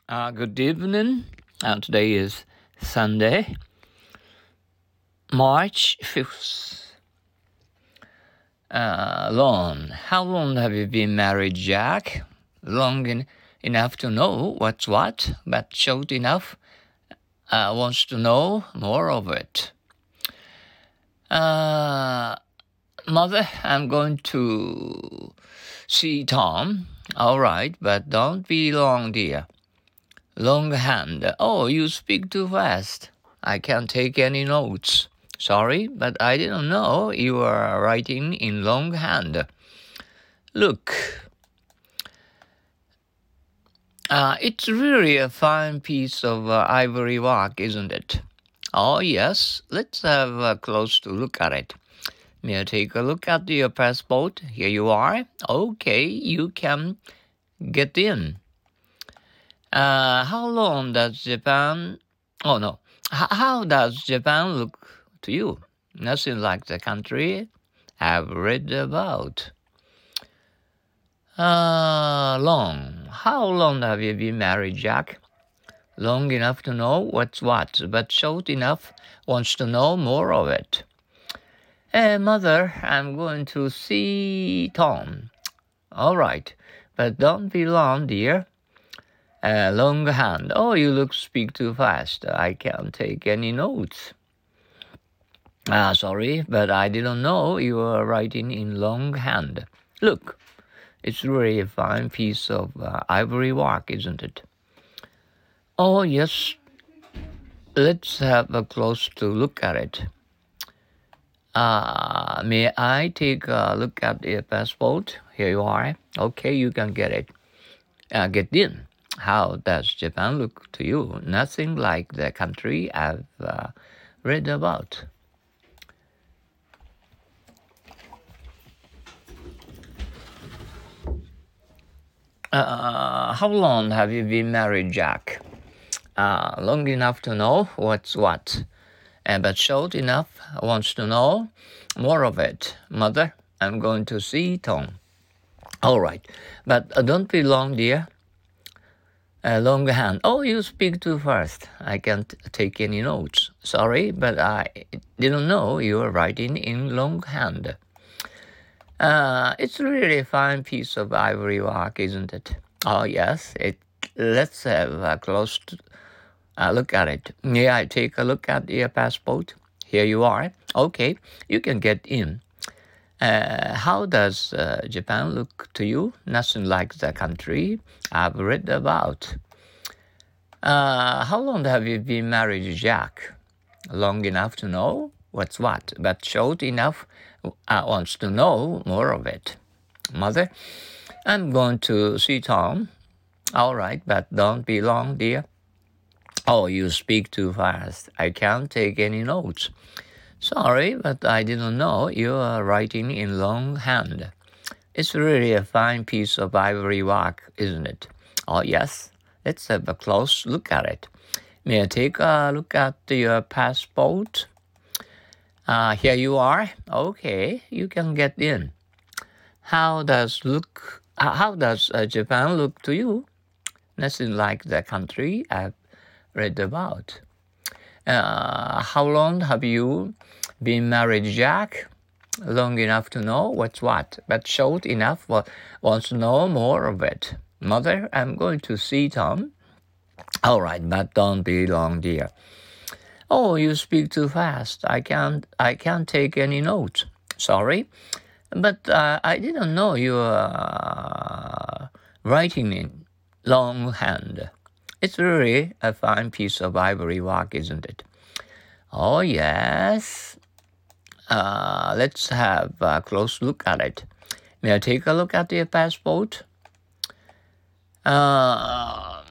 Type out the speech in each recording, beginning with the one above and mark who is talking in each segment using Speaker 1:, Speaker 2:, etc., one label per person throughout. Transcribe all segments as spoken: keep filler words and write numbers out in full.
Speaker 1: Uh, good evening. Uh, today is Sunday, March fifth. Uh, long. How long have you been married, Jack? Long en- enough to know what's what, but short enough uh, wants to know more of it. Uh, Mother, I'm going to see Tom. All right, but don't be long, dear. Longhand. Oh, you speak too fast. I can't take any notes. Sorry, but I didn't know you were writing in longhand. Look, uh, it's really a fine piece of uh, ivory work, isn't it? Oh, yes. Let's have a close look at it. May I take a look at your passport? Here you are. Okay, you can get in. Uh, how long does Japan... Oh, no. H- how does Japan look to you? Nothing like the country I've read about. Uh, long. How long have you been married, Jack? Long enough to know what's what, but short enough wants to know more of it. Hey, Mother, I'm going to see Tom. All right, but don't be long, dear. Uh, long hand. Oh, you look speak too fast. I can't take any notes. Ah, sorry, but I didn't know you were writing in longhand. Look, it's really a fine piece of uh, ivory work, isn't it? Oh, yes. Let's have a close to look at it. Uh, may I take a look at your passport? Here you are. Okay, you can get it. Uh, get in. How does Japan look to you? Nothing like the country I've uh, read about. Uh, how long have you been married, Jack? Uh, long enough to know what's what, uh, but short enough wants to know more of it. Mother, I'm going to see Tom. All right, but uh, don't be long, dear. Uh, long hand. Oh, you speak too fast. I can't take any notes. Sorry, but I didn't know you were writing in longhand. Uh, it's really a fine piece of ivory work, isn't it? Oh, yes. It. Let's have a close uh, look at it. May I take a look at your passport? Here you are. Okay, you can get in. Uh, how does uh, Japan look to you? Nothing like the country I've read about. Uh, how long have you been married, Jack? Long enough to know what's what, but short enough uh, wants to know more of it. Mother, I'm going to see Tom. All right, but don't be long, dear. Oh, you speak too fast. I can't take any notes. Sorry, but I didn't know you are writing in longhand. It's really a fine piece of ivory work, isn't it? Oh, yes. Let's have a close look at it. May I take a look at your passport? Uh, here you are. Okay, you can get in. How does look? How does uh, Japan look to you? Nothing like the country I've read about. Uh, how long have you been married, Jack? Long enough to know what's what, but short enough for wants to know more of it. Mother, I'm going to see Tom. All right, but don't be long, dear. Oh, you speak too fast. I can't. I can't take any notes. Sorry, but uh, I didn't know you were uh, writing in longhand. It's really a fine piece of ivory work, isn't it? Oh, yes. Uh, let's have a close look at it. May I take a look at your passport? Uh,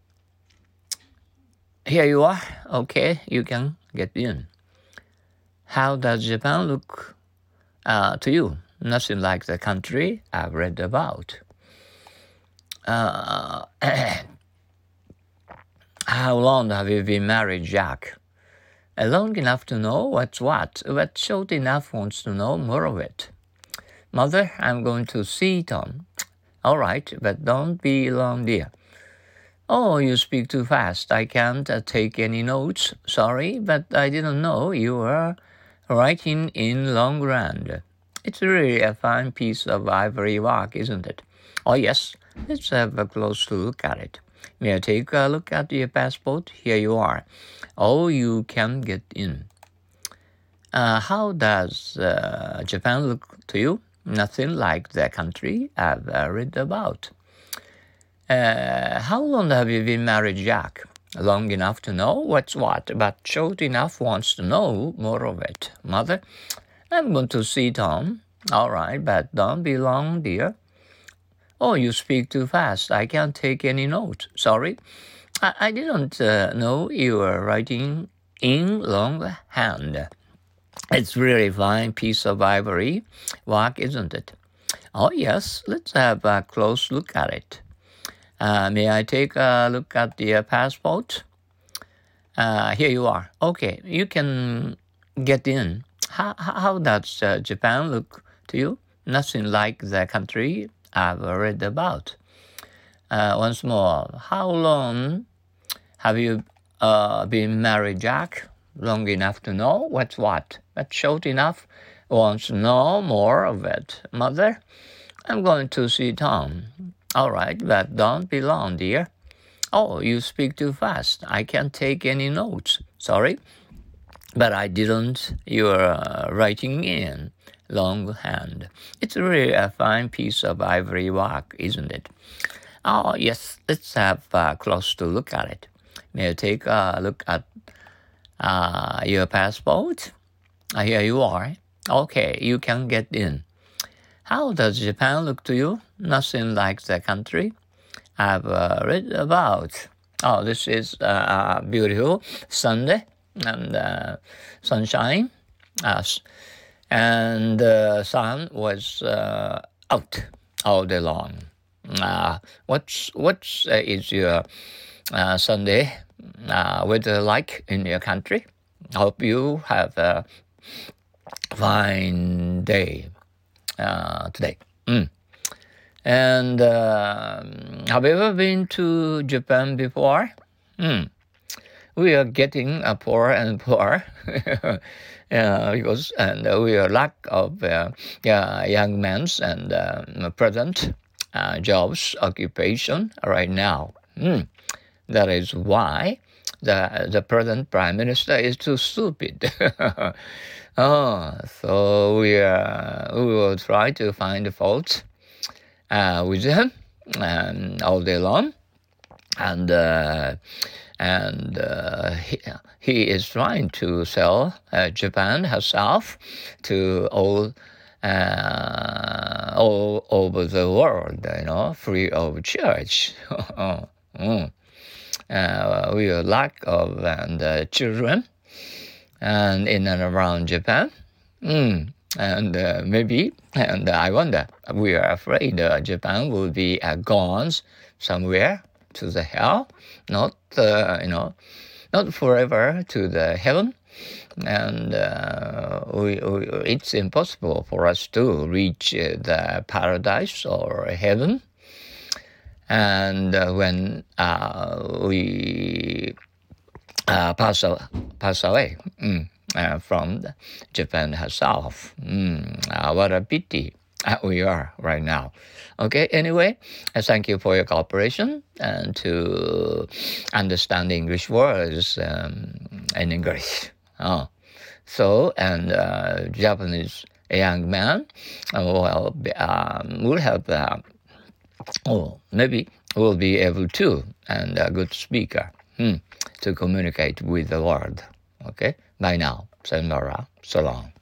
Speaker 1: here you are. Okay, you can get in. How does Japan look uh, to you? Nothing like the country I've read about. Uh, how long have you been married, Jack? Uh, long enough to know what's what, but short enough wants to know more of it. Mother, I'm going to see Tom. All right, but don't be long, dear. Oh, you speak too fast. I can't uh, take any notes. Sorry, but I didn't know you were writing in longhand. It's really a fine piece of ivory work, isn't it? Oh, yes. Let's have a close look at it. May I take a look at your passport? Here you are. Oh, you can get in. Uh, how does uh, Japan look to you? Nothing like the country I've uh, read about. Uh, how long have you been married, Jack? Long enough to know what's what, but short enough wants to know more of it. Mother, I'm going to see Tom. All right, but don't be long, dear. Oh, you speak too fast. I can't take any notes. Sorry. I, I didn't uh, know you were writing in longhand. It's really fine piece of ivory work, isn't it? Oh, yes. Let's have a close look at it. Uh, may I take a look at the passport? Uh, here you are. Okay, you can get in. How, how does uh, Japan look to you? Nothing like the country I've read about. Uh, once more, how long have you uh, been married, Jack? Long enough to know what's what, but short enough wants to know more of it. Mother, I'm going to see Tom. All right, but don't be long, dear. Oh, you speak too fast. I can't take any notes. Sorry, but I didn't. You're uh, writing in longhand. It's really a fine piece of ivory work, isn't it? Oh, yes, let's have a close to look at it. May I take a look at uh, your passport? Uh, here you are. Okay, you can get in. How does Japan look to you? Nothing like the country I've uh, read about. Oh, this is uh, beautiful Sunday and uh, sunshine. Uh, and the sun was uh, out all day long. Uh, what's what's uh, is your uh, Sunday uh, weather like in your country? Hope you have a fine day. Uh, today. Mm. And uh, have you ever been to Japan before? Mm. We are getting uh, poorer and poorer uh, because and uh, we are lack of uh, uh, young men's and uh, present uh, jobs occupation right now. Mm. That is why the the present prime minister is too stupid. Oh, so we uh, we will try to find the fault uh, with him um, all day long, and uh, and uh, he, he is trying to sell uh, Japan herself to all uh, all over the world, you know, free of charge. mm. uh, we are lack of and uh, children. And in and around Japan. Mm. And uh, maybe, and I wonder, we are afraid uh, Japan will be uh, gone somewhere to the hell, not, uh, you know, not forever to the heaven. And uh, we, we, it's impossible for us to reach uh, the paradise or heaven. And uh, when uh, we Uh, pass, pass away mm, uh, from Japan herself. Mm, uh, what a pity uh, we are right now. Okay, anyway, uh, thank you for your cooperation and to understand English words um, in English. Oh. So, and uh, Japanese young man uh, will, be, um, will have, uh, oh, maybe will be able to, and a good speaker. Hmm. To communicate with the world. Okay? Bye now. Sayonara. So long.